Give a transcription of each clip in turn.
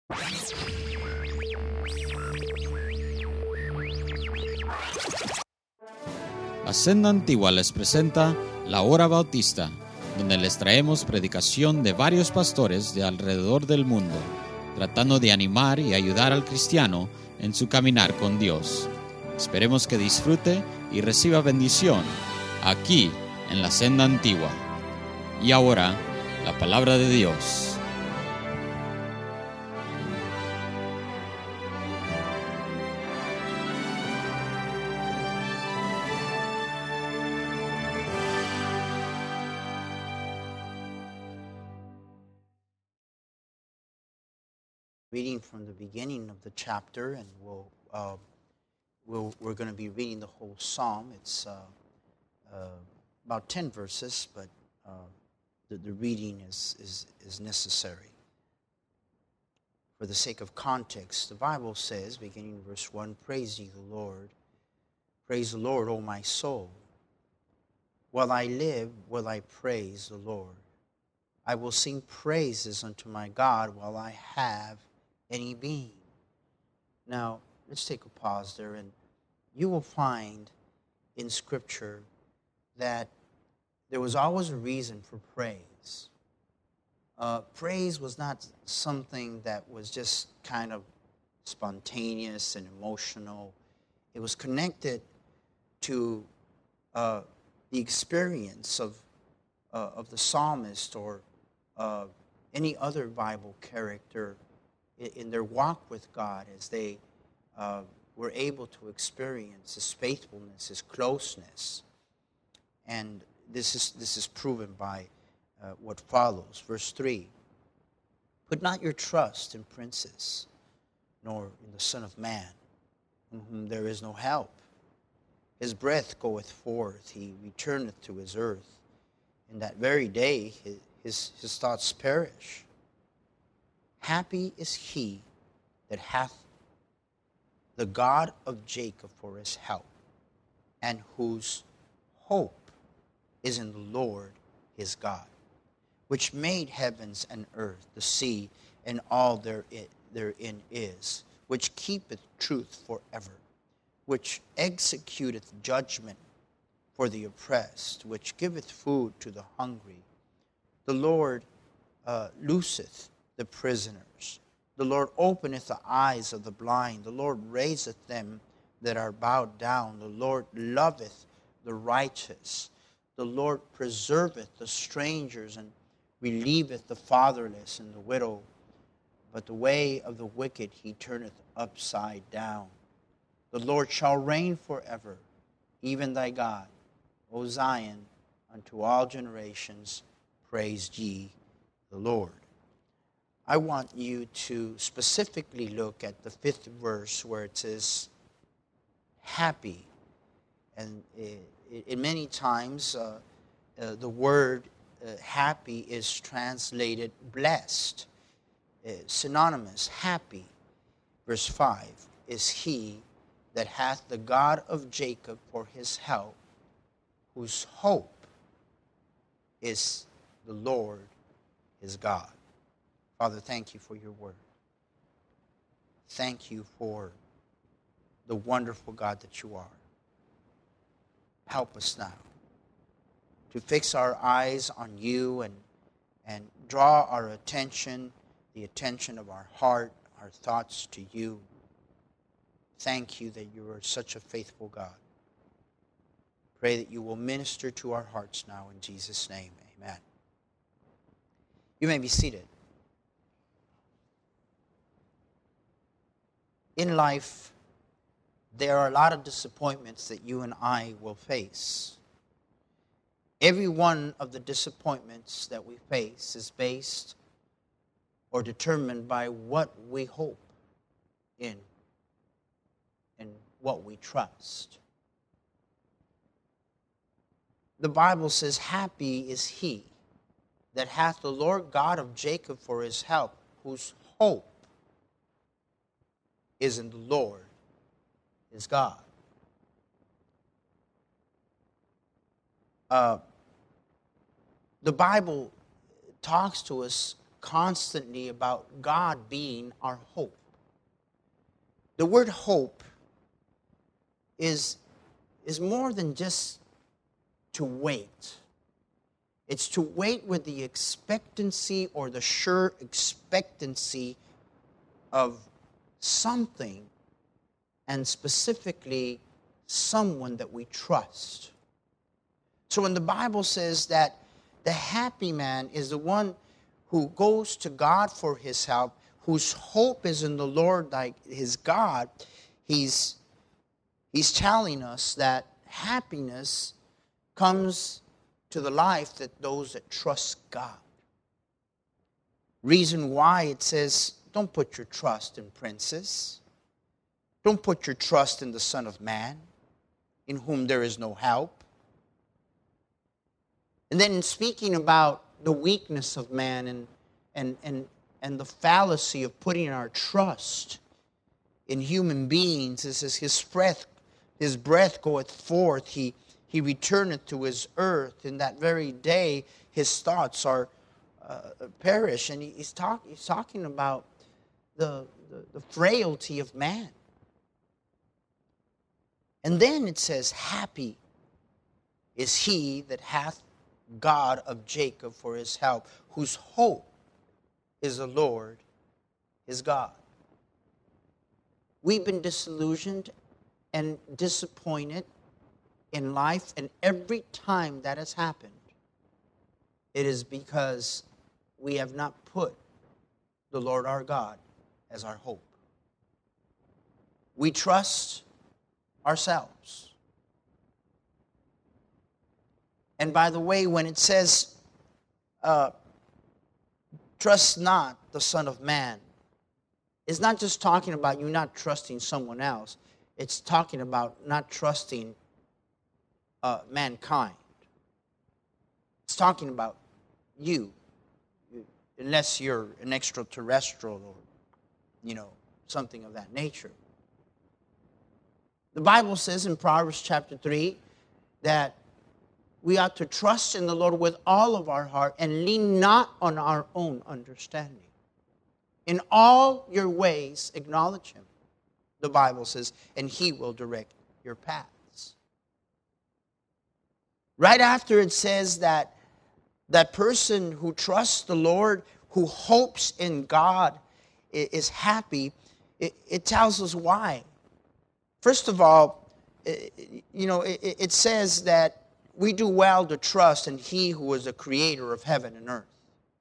La Senda Antigua les presenta La Hora Bautista, donde les traemos predicación de varios pastores de alrededor del mundo, tratando de animar y ayudar al cristiano en su caminar con Dios. Esperemos que disfrute y reciba bendición aquí en la Senda Antigua. Y ahora, la palabra de Dios. Reading from the beginning of the chapter, and we're going to be reading the whole psalm. It's about 10 verses, but the reading is necessary. For the sake of context, the Bible says, beginning verse 1, "Praise ye the Lord. Praise the Lord, O my soul. While I live, will I praise the Lord. I will sing praises unto my God while I have any being." Now, let's take a pause there, and you will find in Scripture that there was always a reason for praise. Praise was not something that was just kind of spontaneous and emotional. It was connected to the experience of the psalmist or any other Bible character in their walk with God, as they were able to experience His faithfulness, His closeness. And this is proven by what follows. Verse 3, "Put not your trust in princes, nor in the Son of Man, in whom there is no help. His breath goeth forth, he returneth to his earth. In that very day his thoughts perish. Happy is he that hath the God of Jacob for his help, and whose hope is in the Lord his God, which made heavens and earth, the sea, and all therein is, which keepeth truth forever, which executeth judgment for the oppressed, which giveth food to the hungry. The Lord looseth the prisoners. The Lord openeth the eyes of the blind. The Lord raiseth them that are bowed down. The Lord loveth the righteous. The Lord preserveth the strangers, and relieveth the fatherless and the widow. But the way of the wicked he turneth upside down. The Lord shall reign forever, even thy God, O Zion, unto all generations. Praise ye the Lord." I want you to specifically look at the 5th verse where it says, "happy." And in many times, the word happy is translated blessed. Synonymous, happy. Verse 5, "is he that hath the God of Jacob for his help, whose hope is the Lord his God." Father, thank you for your word. Thank you for the wonderful God that you are. Help us now to fix our eyes on you and draw our attention, the attention of our heart, our thoughts to you. Thank you that you are such a faithful God. Pray that you will minister to our hearts now in Jesus' name. Amen. You may be seated. In life, there are a lot of disappointments that you and I will face. Every one of the disappointments that we face is based or determined by what we hope in and what we trust. The Bible says, "Happy is he that hath the Lord God of Jacob for his help, whose hope is in the Lord his God." The Bible talks to us constantly about God being our hope. The word hope is more than just to wait. It's to wait with the expectancy or the sure expectancy of something, and specifically someone that we trust. So when the Bible says that the happy man is the one who goes to God for his help, whose hope is in the Lord, like his God, he's telling us that happiness comes to the life that those that trust God. Reason why it says, don't put your trust in princes. Don't put your trust in the Son of Man, in whom there is no help. And then in speaking about the weakness of man and the fallacy of putting our trust in human beings, it says his breath goeth forth, he returneth to his earth. In that very day, his thoughts are perish. And he's talking about the frailty of man. And then it says, happy is he that hath God of Jacob for his help, whose hope is the Lord, his God. We've been disillusioned and disappointed in life, and every time that has happened, it is because we have not put the Lord our God as our hope. We trust ourselves. And by the way, when it says, trust not the Son of Man, it's not just talking about you not trusting someone else. It's talking about not trusting mankind. It's talking about you, unless you're an extraterrestrial or, something of that nature. The Bible says in Proverbs chapter 3 that we ought to trust in the Lord with all of our heart and lean not on our own understanding. In all your ways acknowledge him, the Bible says, and he will direct your paths. Right after it says that person who trusts the Lord, who hopes in God, is happy, it tells us why. First of all, it says that we do well to trust in he who is the creator of heaven and earth.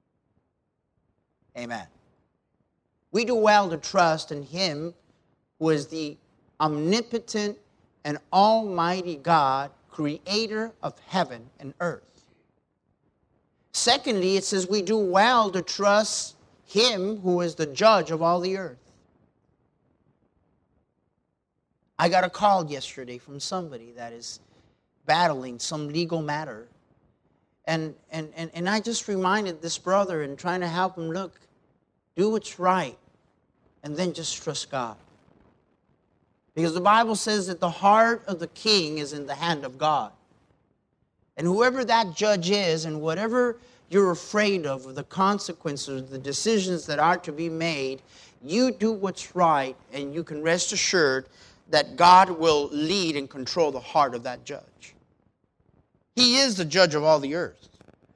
Amen. We do well to trust in him who is the omnipotent and almighty God, creator of heaven and earth. Secondly, it says we do well to trust him who is the judge of all the earth. I got a call yesterday from somebody that is battling some legal matter. And I just reminded this brother and trying to help him, look, do what's right, and then just trust God. Because the Bible says that the heart of the king is in the hand of God. And whoever that judge is, and whatever you're afraid of, the consequences, the decisions that are to be made, you do what's right, and you can rest assured that God will lead and control the heart of that judge. He is the judge of all the earth.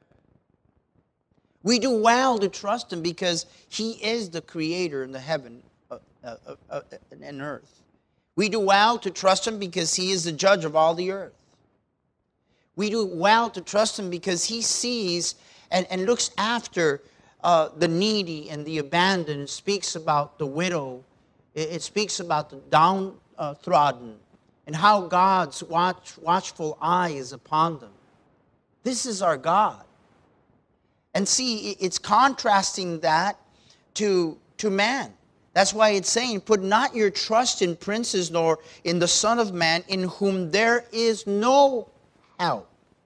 We do well to trust him because he is the creator in the heaven and earth. We do well to trust him because he is the judge of all the earth. We do well to trust him because he sees and looks after the needy and the abandoned. It speaks about the widow. It speaks about the downtrodden and how God's watchful eye is upon them. This is our God. And see, it's contrasting that to man. That's why it's saying, put not your trust in princes nor in the Son of Man, in whom there is no help.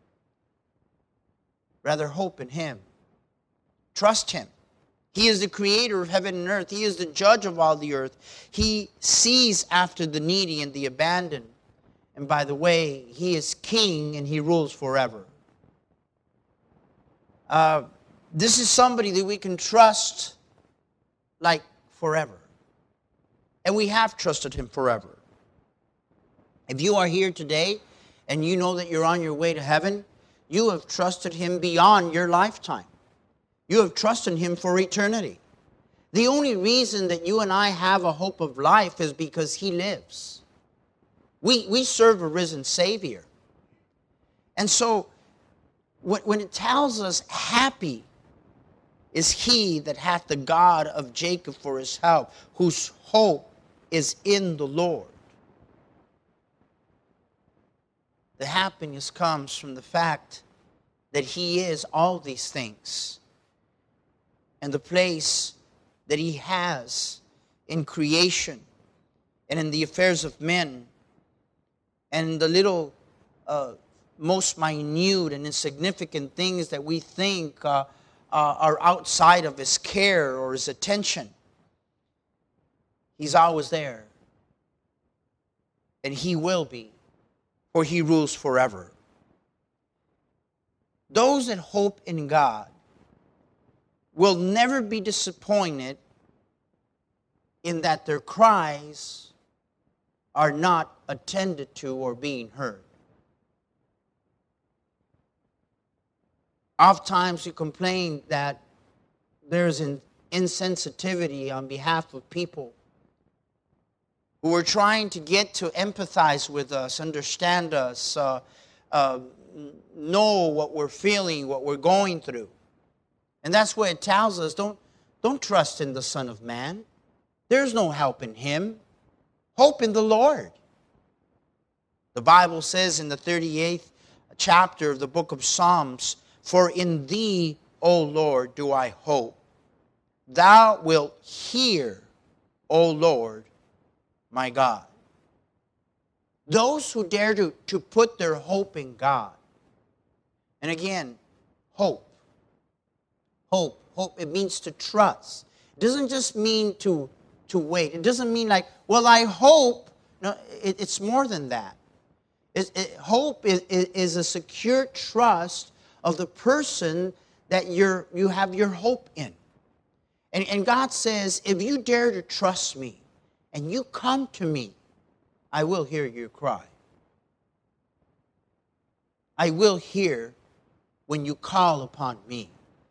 Rather, hope in him. Trust him. He is the creator of heaven and earth. He is the judge of all the earth. He sees after the needy and the abandoned. And by the way, he is king and he rules forever. This is somebody that we can trust like forever. And we have trusted him forever. If you are here today and you know that you're on your way to heaven, you have trusted him beyond your lifetime. You have trusted him for eternity. The only reason that you and I have a hope of life is because he lives. We serve a risen Savior. And so when it tells us, happy is he that hath the God of Jacob for his help, whose hope is in the Lord. The happiness comes from the fact that he is all these things. And the place that he has in creation and in the affairs of men and the little most minute and insignificant things that we think are outside of his care or his attention. He's always there. And he will be, for he rules forever. Those that hope in God will never be disappointed in that their cries are not attended to or being heard. Oftentimes you complain that there's an insensitivity on behalf of people who are trying to get to empathize with us, understand us, know what we're feeling, what we're going through. And that's what it tells us. Don't trust in the Son of Man. There's no help in him. Hope in the Lord. The Bible says in the 38th chapter of the book of Psalms, for in thee, O Lord, do I hope. Thou wilt hear, O Lord, my God. Those who dare to put their hope in God. And again, hope. Hope. Hope, it means to trust. It doesn't just mean to wait. It doesn't mean like, well, I hope. No, it's more than that. Hope is a secure trust of the person that you have your hope in. And God says, if you dare to trust me and you come to me, I will hear your cry. I will hear when you call upon me.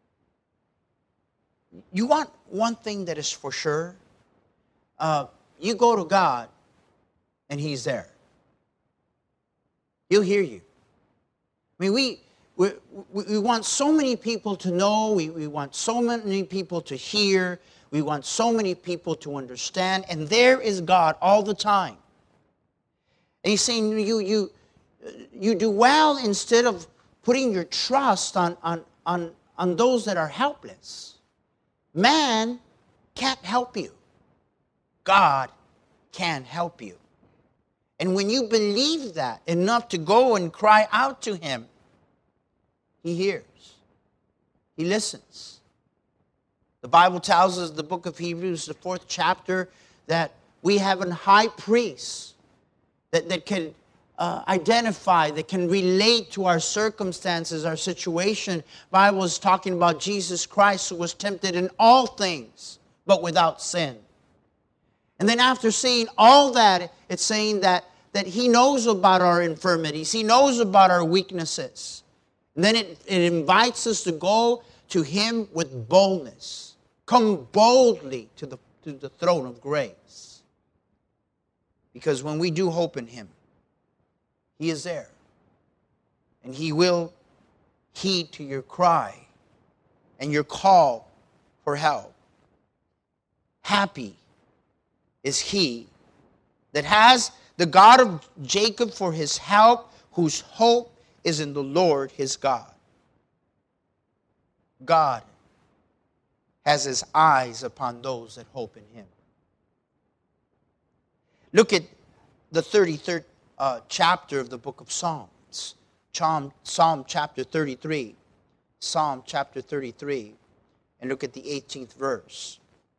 You want one thing that is for sure? You go to God and he's there. He'll hear you. I mean, we want so many people to know. We want so many people to hear. We want so many people to understand. And there is God all the time. And he's saying you do well instead of putting your trust on those that are helpless. Man can't help you. God can help you. And when you believe that enough to go and cry out to him, he hears. He listens. The Bible tells us in the book of Hebrews, the 4th chapter, that we have a high priest that can identify, that can relate to our circumstances, our situation. The Bible is talking about Jesus Christ, who was tempted in all things, but without sin. And then after saying all that, it's saying that he knows about our infirmities. He knows about our weaknesses. And then it invites us to go to him with boldness. Come boldly to the throne of grace. Because when we do hope in him, he is there. And he will heed to your cry and your call for help. Happy is he that has the God of Jacob for his help, whose hope is in the Lord his God. God has his eyes upon those that hope in him. Look at the 33rd chapter of the book of Psalms. Psalm chapter 33. Psalm chapter 33. And look at the 18th verse.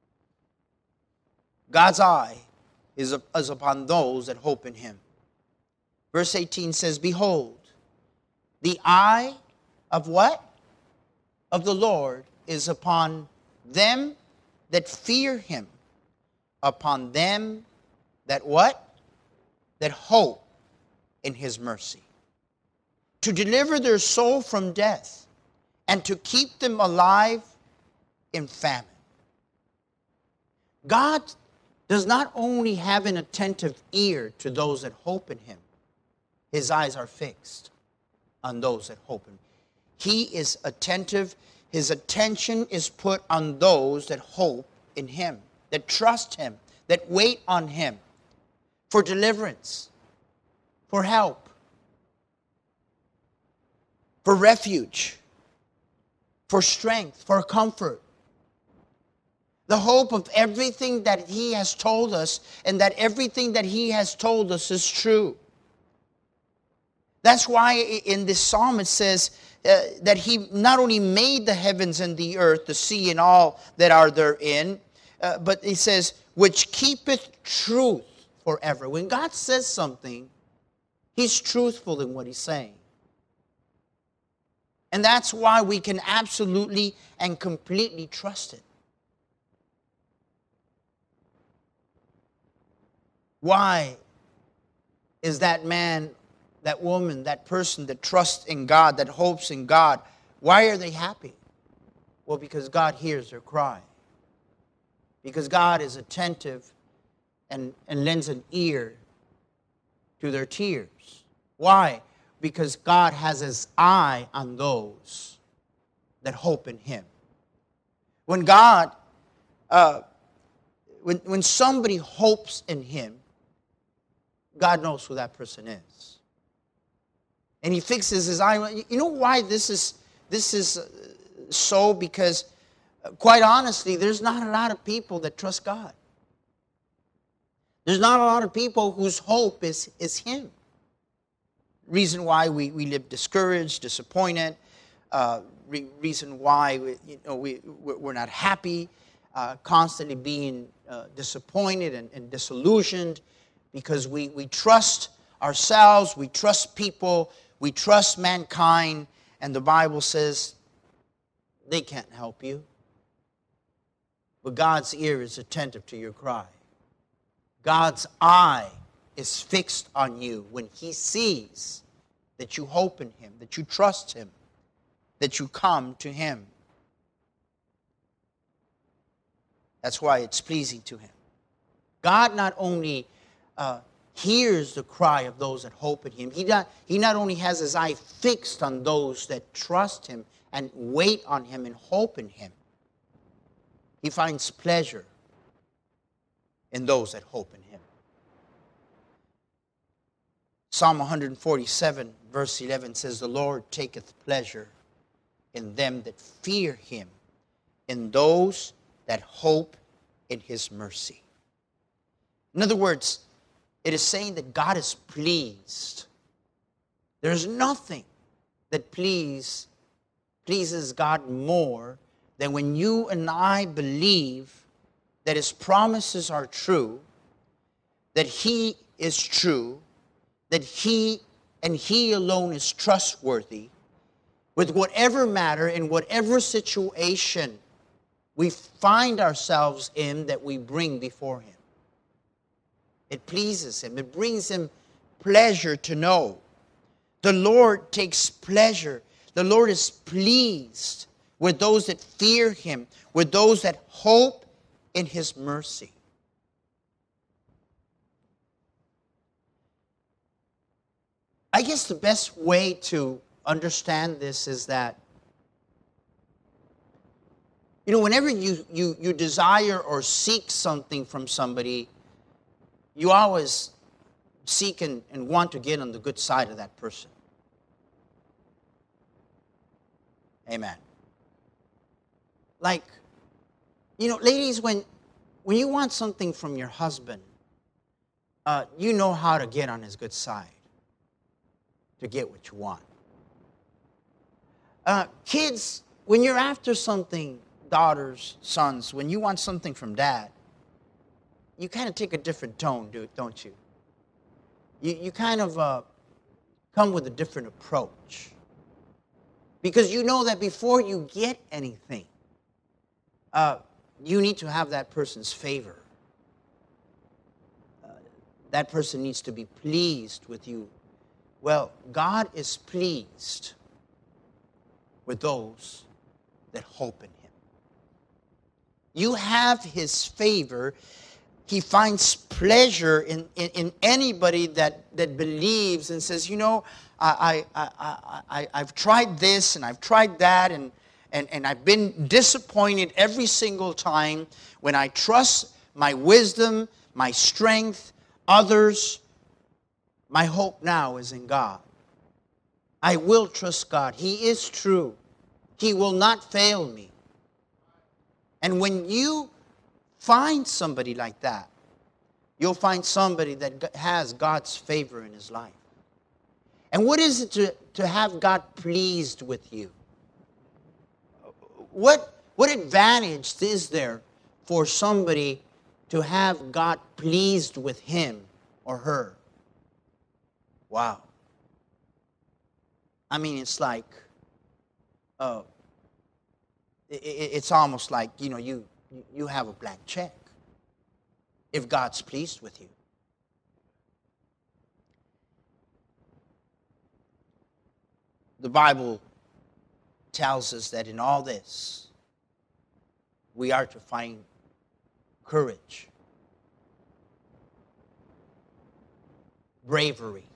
God's eye is upon those that hope in him. Verse 18 says, behold, the eye of what? Of the Lord is upon them that fear him, upon them that what? That hope in his mercy. To deliver their soul from death and to keep them alive in famine. God does not only have an attentive ear to those that hope in him. His eyes are fixed on those that hope in him. He is attentive. His attention is put on those that hope in him, that trust him, that wait on him for deliverance, for help, for refuge, for strength, for comfort. The hope of everything that he has told us, and that everything that he has told us is true. That's why in this psalm it says that he not only made the heavens and the earth, the sea and all that are therein, but he says, which keepeth truth forever. When God says something, he's truthful in what he's saying. And that's why we can absolutely and completely trust it. Why is that man, that woman, that person that trusts in God, that hopes in God, why are they happy? Well, because God hears their cry. Because God is attentive and lends an ear to their tears. Why? Because God has his eye on those that hope in him. When God, when somebody hopes in him, God knows who that person is. And he fixes his eye. You know why this is so? Because quite honestly, there's not a lot of people that trust God. There's not a lot of people whose hope is him. Reason why we live discouraged, disappointed. Reason why we're not happy, constantly being disappointed and disillusioned. Because we trust ourselves, we trust people, we trust mankind, and the Bible says they can't help you. But God's ear is attentive to your cry. God's eye is fixed on you when he sees that you hope in him, that you trust him, that you come to him. That's why it's pleasing to him. God not only hears the cry of those that hope in him. He not only has his eye fixed on those that trust him and wait on him and hope in him. He finds pleasure in those that hope in him. Psalm 147 verse 11 says, the Lord taketh pleasure in them that fear him, in those that hope in his mercy. In other words, it is saying that God is pleased. There's nothing that pleases God more than when you and I believe that his promises are true, that he is true, that he and he alone is trustworthy, with whatever matter, in whatever situation we find ourselves in that we bring before him. It pleases him. It brings him pleasure to know. The Lord takes pleasure. The Lord is pleased with those that fear him, with those that hope in his mercy. I guess the best way to understand this is that, whenever you desire or seek something from somebody, you always seek and want to get on the good side of that person. Amen. Like, ladies, when you want something from your husband, you know how to get on his good side to get what you want. Kids, when you're after something, daughters, sons, when you want something from dad, you kind of take a different tone, don't you? You kind of come with a different approach. Because you know that before you get anything, you need to have that person's favor. That person needs to be pleased with you. Well, God is pleased with those that hope in Him. You have His favor. He finds pleasure in anybody that believes and says, you know, I've tried this and I've tried that and I've been disappointed every single time. When I trust my wisdom, my strength, others, my hope now is in God. I will trust God. He is true. He will not fail me. And when you find somebody like that, you'll find somebody that has God's favor in his life. And what is it to have God pleased with you? What advantage is there for somebody to have God pleased with him or her? Wow. I mean, it's like, it's almost like, you know, you have a blank check if God's pleased with you. The Bible tells us that in all this, we are to find courage, bravery.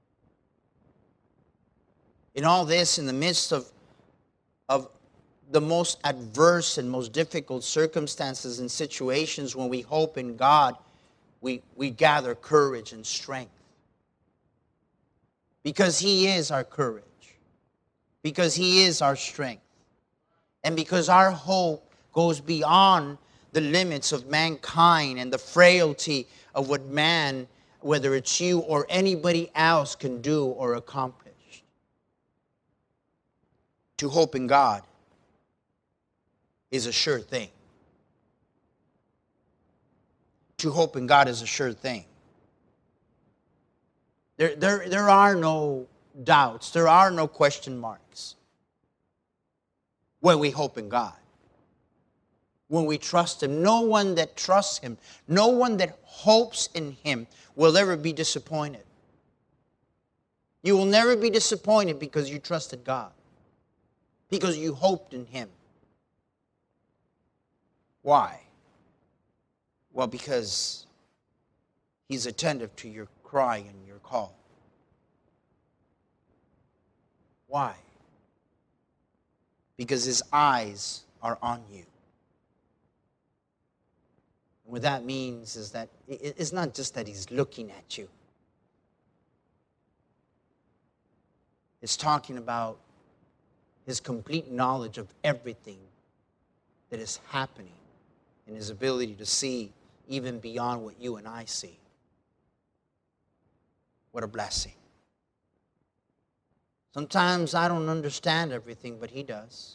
In all this, in the midst of the most adverse and most difficult circumstances and situations, when we hope in God, we gather courage and strength. Because He is our courage. Because He is our strength. And because our hope goes beyond the limits of mankind and the frailty of what man, whether it's you or anybody else, can do or accomplish. To hope in God is a sure thing. To hope in God is a sure thing. There are no doubts. There are no question marks when we hope in God. When we trust Him. No one that trusts Him, no one that hopes in Him will ever be disappointed. You will never be disappointed because you trusted God. Because you hoped in Him. Why? Well, because He's attentive to your cry and your call. Why? Because His eyes are on you. And what that means is that it's not just that He's looking at you. It's talking about His complete knowledge of everything that is happening and His ability to see even beyond what you and I see. What a blessing. Sometimes I don't understand everything, but He does.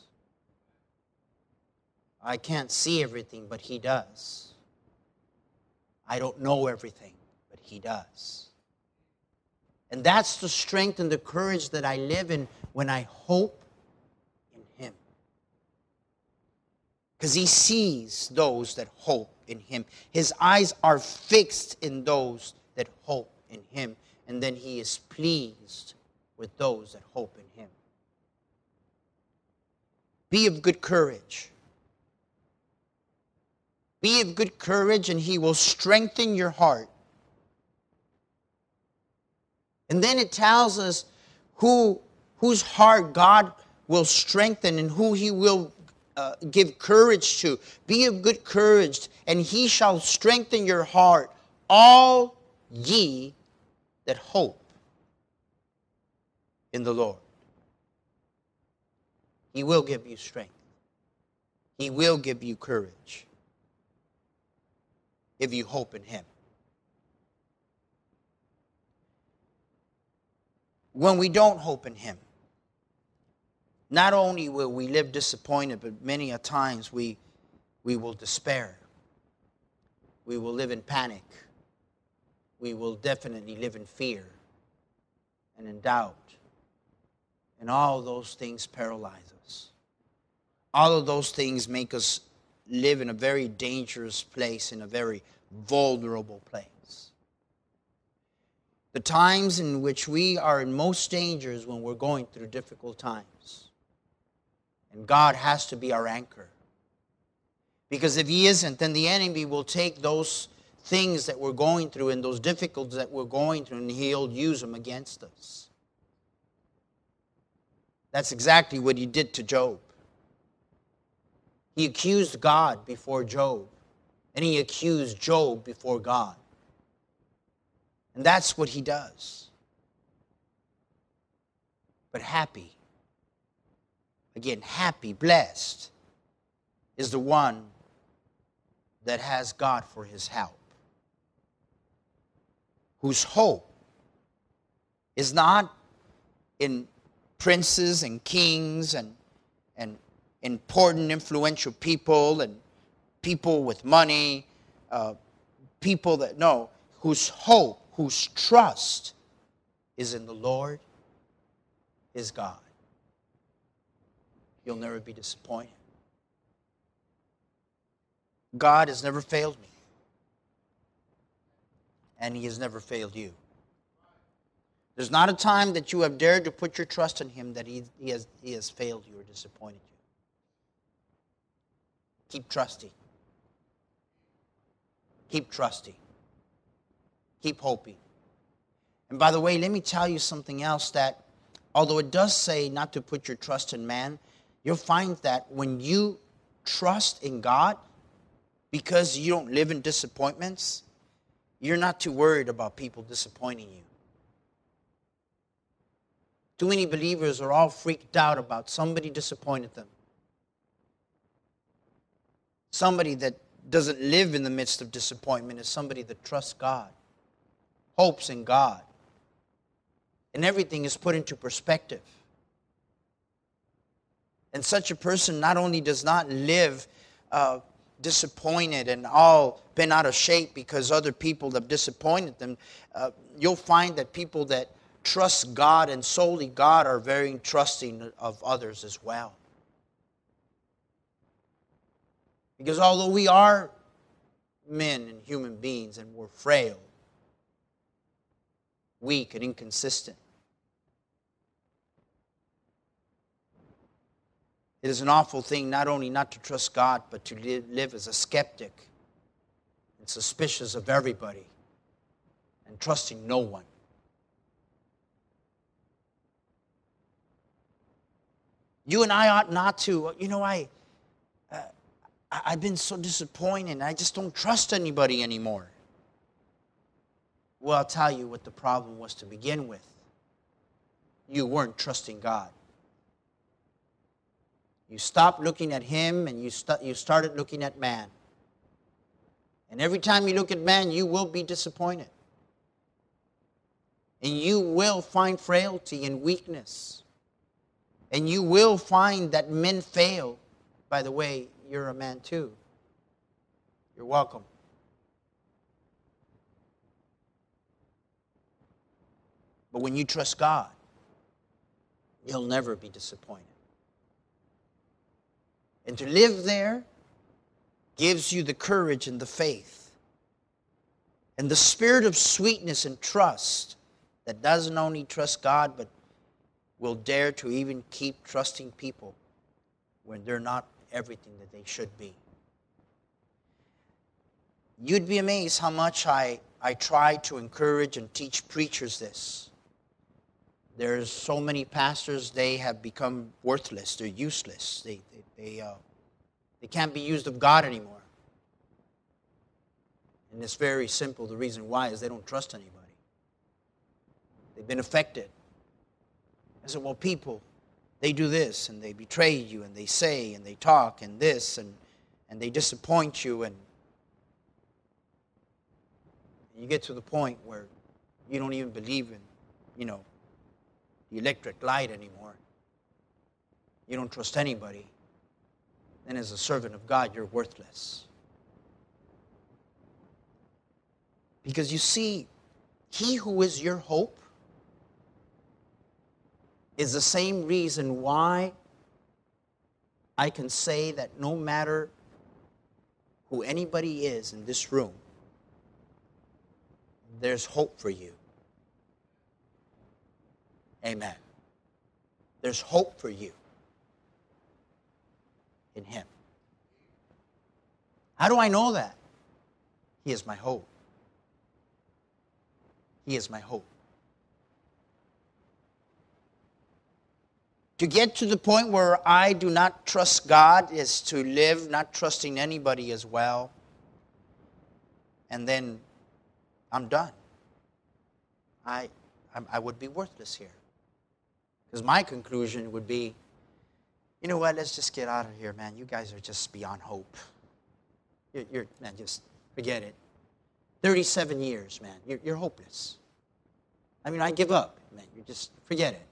I can't see everything, but He does. I don't know everything, but He does. And that's the strength and the courage that I live in when I hope in Him. Because He sees those that hope in Him. His eyes are fixed in those that hope in Him. And then He is pleased with those that hope in Him. Be of good courage. Be of good courage, and He will strengthen your heart. And then it tells us whose heart God will strengthen and who He will give courage to. Be of good courage, and He shall strengthen your heart, all ye that hope in the Lord. He will give you strength. He will give you courage if you hope in Him. When we don't hope in Him, not only will we live disappointed, but many a times we will despair. We will live in panic. We will definitely live in fear and in doubt. And all those things paralyze us. All of those things make us live in a very dangerous place, in a very vulnerable place. The times in which we are in most danger is when we're going through difficult times. And God has to be our anchor. Because if He isn't, then the enemy will take those things that we're going through and those difficulties that we're going through, and he'll use them against us. That's exactly what he did to Job. He accused God before Job, and he accused Job before God. And that's what he does. But happy, again, happy, blessed, is the one that has God for his help, whose hope is not in princes and kings and important, influential people and people with money, people that know, whose hope, whose trust is in the Lord, is God. You'll never be disappointed. God has never failed me, and He has never failed you. There's not a time that you have dared to put your trust in Him that He has failed you or disappointed you. Keep trusting. Keep trusting. Keep hoping. And by the way, let me tell you something else, that although it does say not to put your trust in man, you'll find that when you trust in God, because you don't live in disappointments, you're not too worried about people disappointing you. Too many believers are all freaked out about somebody disappointed them. Somebody that doesn't live in the midst of disappointment is somebody that trusts God, hopes in God, and everything is put into perspective. And such a person not only does not live disappointed and all bent out of shape because other people have disappointed them, you'll find that people that trust God and solely God are very trusting of others as well. Because although we are men and human beings and we're frail, weak and inconsistent, it is an awful thing not only not to trust God, but to live as a skeptic and suspicious of everybody and trusting no one. You and I ought not to, I've been so disappointed. I just don't trust anybody anymore. Well, I'll tell you what the problem was to begin with. You weren't trusting God. You stopped looking at Him and you started looking at man. And every time you look at man, you will be disappointed. And you will find frailty and weakness. And you will find that men fail. By the way, you're a man too. You're welcome. But when you trust God, you'll never be disappointed. And to live there gives you the courage and the faith and the spirit of sweetness and trust that doesn't only trust God, but will dare to even keep trusting people when they're not everything that they should be. You'd be amazed how much I try to encourage and teach preachers this. There's so many pastors, they have become worthless. They're useless. They can't be used of God anymore. And it's very simple. The reason why is they don't trust anybody. They've been affected. I said, well, people, they do this, and they betray you, and they say, and they talk, and this, and they disappoint you, and you get to the point where you don't even believe in, the electric light anymore. You don't trust anybody. Then as a servant of God, you're worthless. Because you see, He who is your hope is the same reason why I can say that no matter who anybody is in this room, there's hope for you. Amen. There's hope for you in Him. How do I know that? He is my hope. He is my hope. To get to the point where I do not trust God is to live not trusting anybody as well. And then I'm done. I would be worthless here. Because my conclusion would be, you know what, let's just get out of here, man. You guys are just beyond hope. Man, just forget it. 37 years, man. You're hopeless. I mean, I give up, man. You just forget it.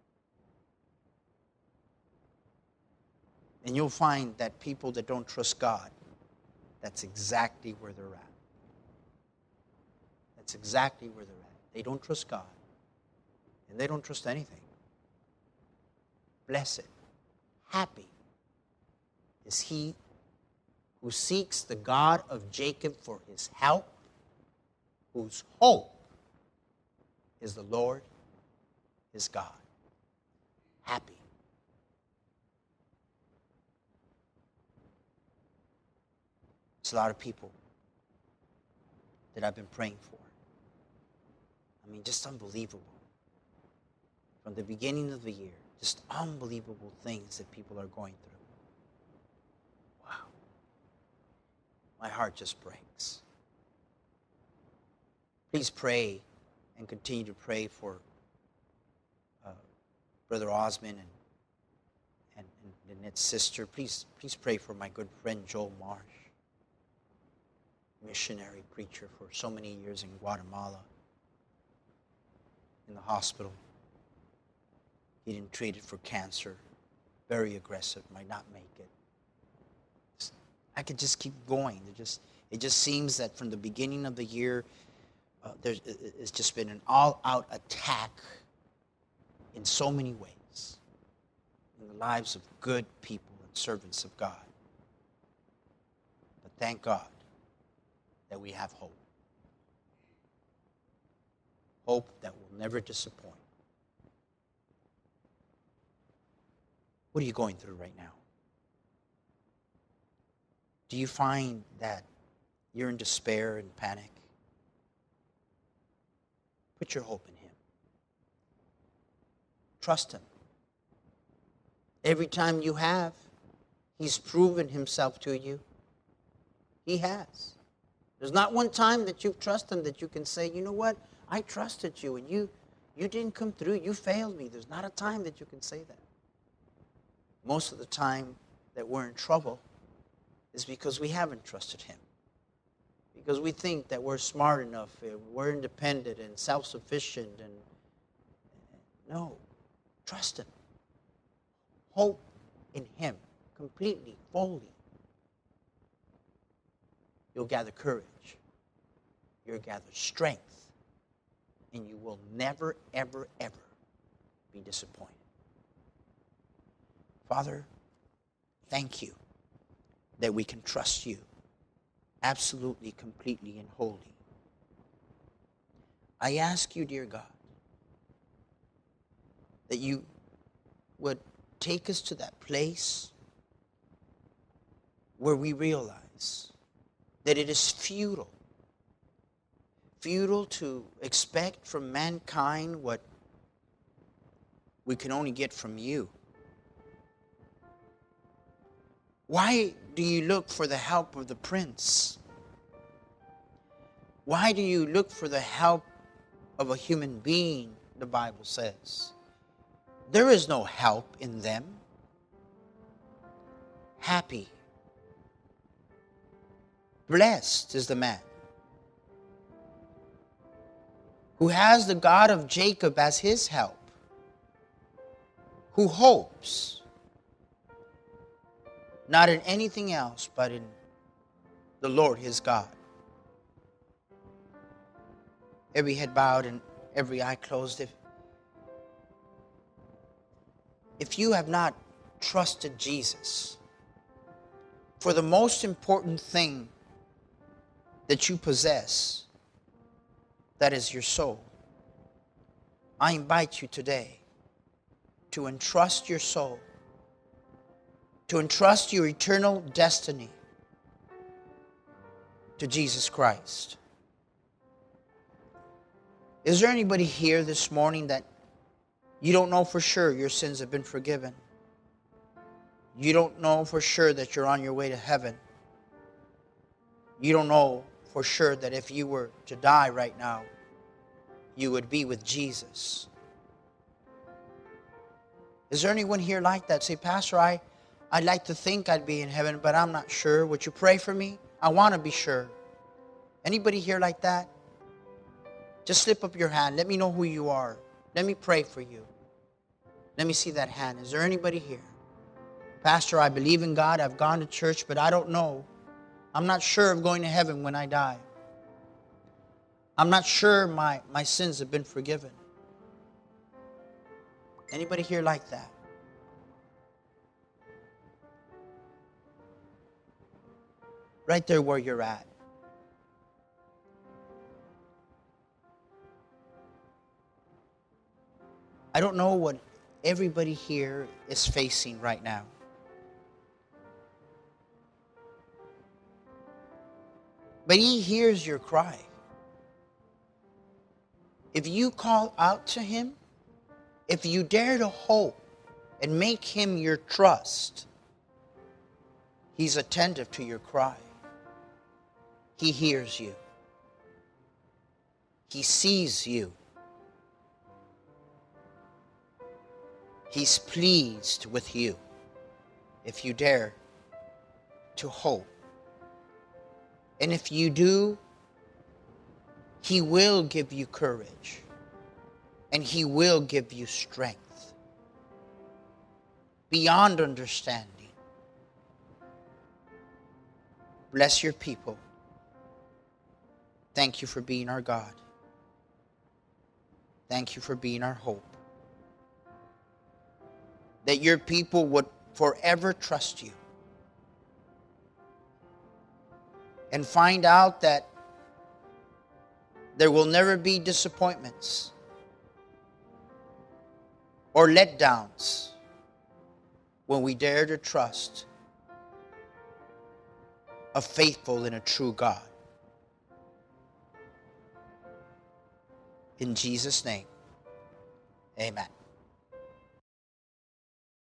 And you'll find that people that don't trust God, that's exactly where they're at. That's exactly where they're at. They don't trust God. And they don't trust anything. Blessed, happy is he who seeks the God of Jacob for his help, whose hope is the Lord his God. Happy. It's a lot of people that I've been praying for. I mean, just unbelievable. From the beginning of the year, just unbelievable things that people are going through. Wow. My heart just breaks. Please pray and continue to pray for Brother Osmond and Lynette's sister. Please pray for my good friend Joel Marsh, missionary preacher for so many years in Guatemala, in the hospital. Getting treated for cancer, very aggressive, might not make it. I could just keep going. It just seems that from the beginning of the year, it's just been an all-out attack in so many ways in the lives of good people and servants of God. But thank God that we have hope. Hope that will never disappoint. What are you going through right now? Do you find that you're in despair and panic? Put your hope in Him. Trust Him. Every time you have, He's proven Himself to you. He has. There's not one time that you've trusted Him that you can say, you know what, I trusted you and you didn't come through. You failed me. There's not a time that you can say that. Most of the time that we're in trouble is because we haven't trusted Him. Because we think that we're smart enough, we're independent and self-sufficient. And no, trust Him. Hope in Him completely, fully. You'll gather courage. You'll gather strength. And you will never, ever, ever be disappointed. Father, thank you that we can trust you absolutely, completely, and wholly. I ask you, dear God, that you would take us to that place where we realize that it is futile to expect from mankind what we can only get from you. Why do you look for the help of the prince? Why do you look for the help of a human being, the Bible says? There is no help in them. Happy, blessed is the man who has the God of Jacob as his help, who hopes not in anything else but in the Lord his God. Every head bowed and every eye closed. If you have not trusted Jesus for the most important thing that you possess, that is your soul. I invite you today to entrust your soul, to entrust your eternal destiny to Jesus Christ. Is there anybody here this morning that you don't know for sure your sins have been forgiven? You don't know for sure that you're on your way to heaven. You don't know for sure that if you were to die right now, you would be with Jesus. Is there anyone here like that? Say, Pastor, I'd like to think I'd be in heaven, but I'm not sure. Would you pray for me? I want to be sure. Anybody here like that? Just slip up your hand. Let me know who you are. Let me pray for you. Let me see that hand. Is there anybody here? Pastor, I believe in God. I've gone to church, but I don't know. I'm not sure of going to heaven when I die. I'm not sure my sins have been forgiven. Anybody here like that? Right there where you're at. I don't know what everybody here is facing right now. But He hears your cry. If you call out to Him, if you dare to hope and make Him your trust, He's attentive to your cry. He hears you. He sees you. He's pleased with you if you dare to hope. And if you do, He will give you courage and He will give you strength beyond understanding. Bless your people. Thank you for being our God. Thank you for being our hope. That your people would forever trust you and find out that there will never be disappointments or letdowns when we dare to trust a faithful and a true God. In Jesus' name, amen.